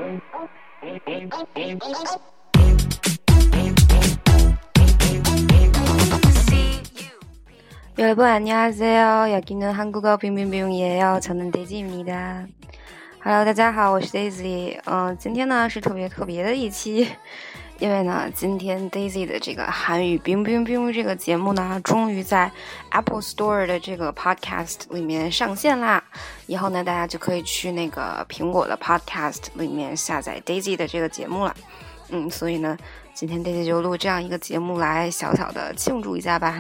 여러분 안녕하세요. 여기는 한국어 빙빙빙이에요. 저는 데이지입니다. Hello， 大家好，我是 Daisy。今天呢是特别的一期，因为呢今天 Daisy 的这个韩语冰冰冰这个节目呢，终于在 Apple Store 的这个 Podcast 里面上线啦。以后呢大家就可以去那个苹果的 Podcast 里面下载 Daisy 的这个节目了。所以呢今天 Daisy 就录这样一个节目来小小的庆祝一下吧。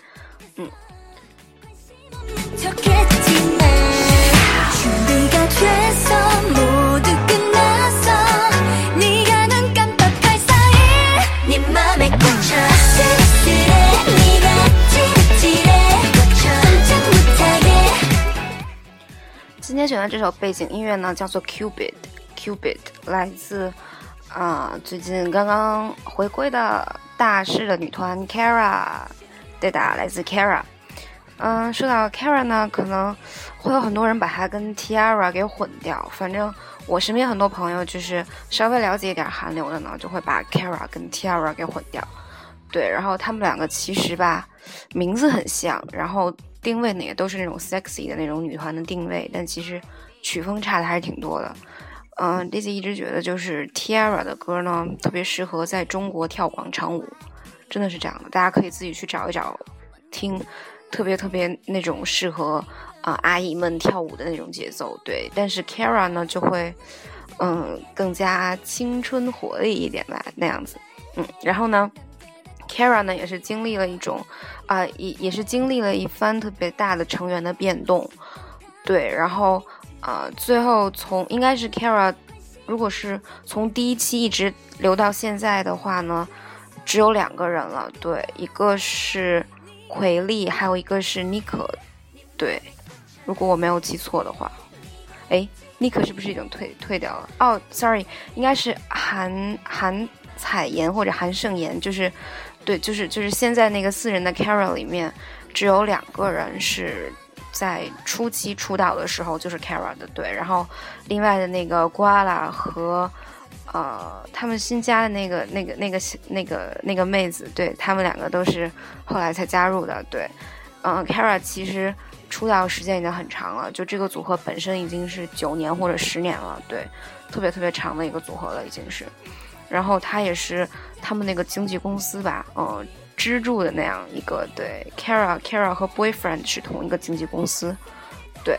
今天选的这首背景音乐呢叫做 Cupid， 来自最近刚刚回归的大势的女团 Kara， 对的，来自 Kara。说到 Kara 呢，可能会有很多人把它跟 T-ara 给混掉，反正我身边很多朋友就是稍微了解一点韩流的呢，就会把 Kara 跟 T-ara 给混掉。对，然后他们两个其实吧名字很像，然后定位呢也都是那种 sexy 的那种女团的定位，但其实曲风差的还是挺多的。Daisy 一直觉得就是 T-ara 的歌呢特别适合在中国跳广场舞，真的是这样的，大家可以自己去找一找听，特别那种适合阿姨们跳舞的那种节奏。对，但是 Kara 呢就会更加青春活力一点吧，那样子。然后呢 Kara 呢也是经历了一种也是经历了一番特别大的成员的变动。对，然后最后应该是 Kara 如果是从第一期一直留到现在的话呢，只有2个人了。对，一个是奎利，还有一个是妮可。对，如果我没有记错的话，妮可是不是已经退掉了？sorry， 应该是韩彩妍或者韩盛妍，就是对，就是现在那个4人的 Kara 里面，只有2个人是在初期出道的时候就是 Kara 的。对，然后另外的那个瓜拉和他们新加的那个妹子，对，他们2个都是后来才加入的。对，Kara 其实出道时间已经很长了，就这个组合本身已经是9年或者10年了。对，特别长的一个组合了已经是。然后他也是他们那个经纪公司吧支柱的那样一个。对， Kara 和 Boyfriend 是同一个经纪公司。对，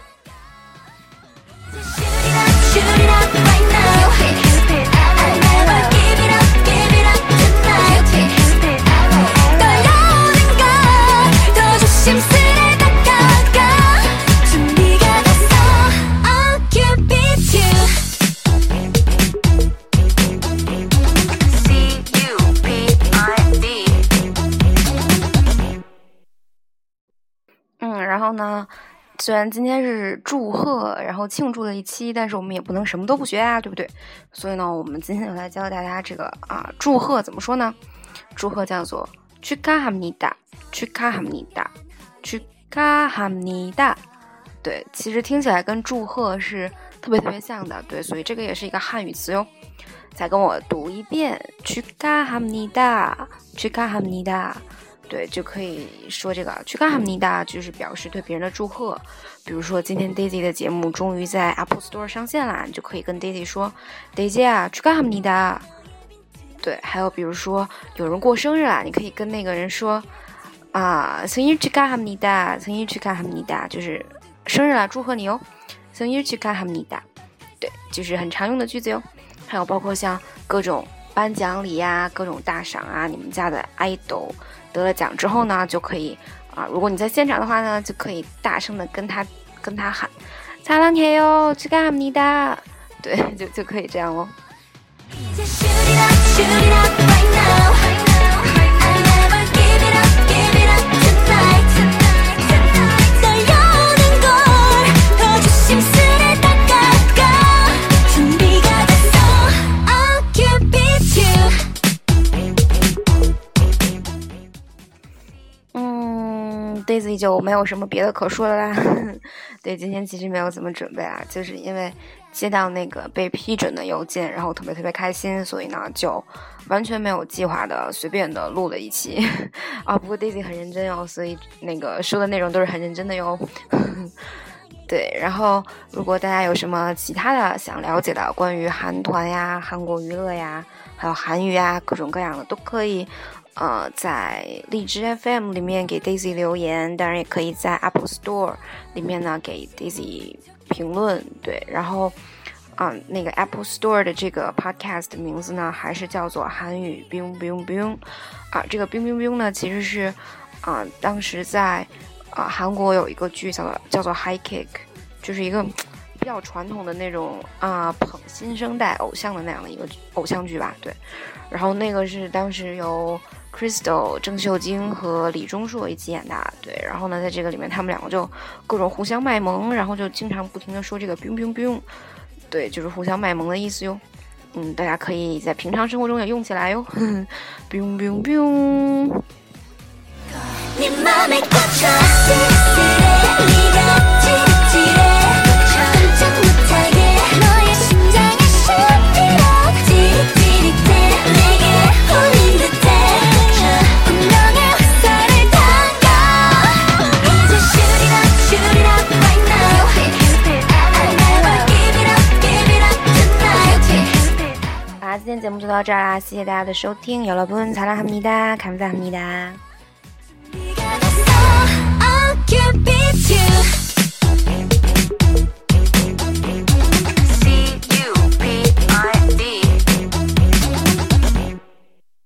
然后呢虽然今天是祝贺然后庆祝的一期，但是我们也不能什么都不学啊，对不对？所以呢我们今天就来教大家这个祝贺怎么说呢？祝贺叫做축하합니다。对，其实听起来跟祝贺是特别像的。对，所以这个也是一个汉语词哟。再跟我读一遍축하합니다。对，就可以说这个축하합니다就是表示对别人的祝贺。比如说今天 Daisy 的节目终于在 Apple Store 上线啦，你就可以跟 Daisy 说 Daisy 축하합니다。对，还有比如说有人过生日啦，你可以跟那个人说생일 축하합니다，就是生日啦，祝贺你哦，생일 축하합니다。对，就是很常用的句子哟。还有包括像各种颁奖礼呀，各种大赏啊，你们家的 idol得了奖之后呢，就可以如果你在现場的话呢，就可以大声的跟他喊사랑해요 축하합니다。对，就可以这样哦。Daisy 就没有什么别的可说的啦。对，今天其实没有怎么准备啊，就是因为接到那个被批准的邮件，然后特别开心，所以呢就完全没有计划的随便的录了一期啊。不过 Daisy 很认真哦，所以那个说的内容都是很认真的哟。对，然后如果大家有什么其他的想了解的关于韩团呀、韩国娱乐呀，还有韩语呀，各种各样的都可以在荔枝 FM 里面给 Daisy 留言，当然也可以在 Apple Store 里面呢给 Daisy 评论。对，然后那个 Apple Store 的这个 podcast 的名字呢还是叫做韩语 biu biu biu 这个 biu biu biu 呢其实是当时在韩国有一个剧叫做 High Kick， 就是一个比较传统的那种捧新生代偶像的那样的一个偶像剧吧。对，然后那个是当时由 Crystal 郑秀晶和李钟硕一起演的。对，然后呢在这个里面他们两个就各种互相卖萌，然后就经常不停的说这个 biu biu biu， 对，就是互相卖萌的意思哟。大家可以在平常生活中也用起来哟。biu biu biu。今天节目就到这儿啦，谢谢大家的收听。여러분 사랑합니다，감사합니다。